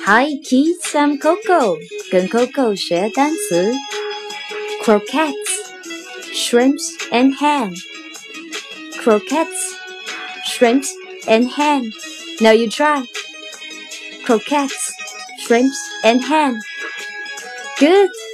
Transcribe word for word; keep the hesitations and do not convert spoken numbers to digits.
Hi kids, I'm Coco. 跟 Coco 学单词 Croquettes, shrimps and ham. Croquettes, shrimps and ham. Now you try. Croquettes, shrimps and ham. Good.